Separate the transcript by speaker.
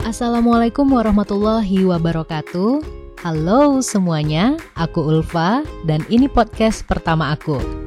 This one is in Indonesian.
Speaker 1: Assalamualaikum warahmatullahi wabarakatuh. Halo semuanya, aku Ulfa dan ini podcast pertama aku.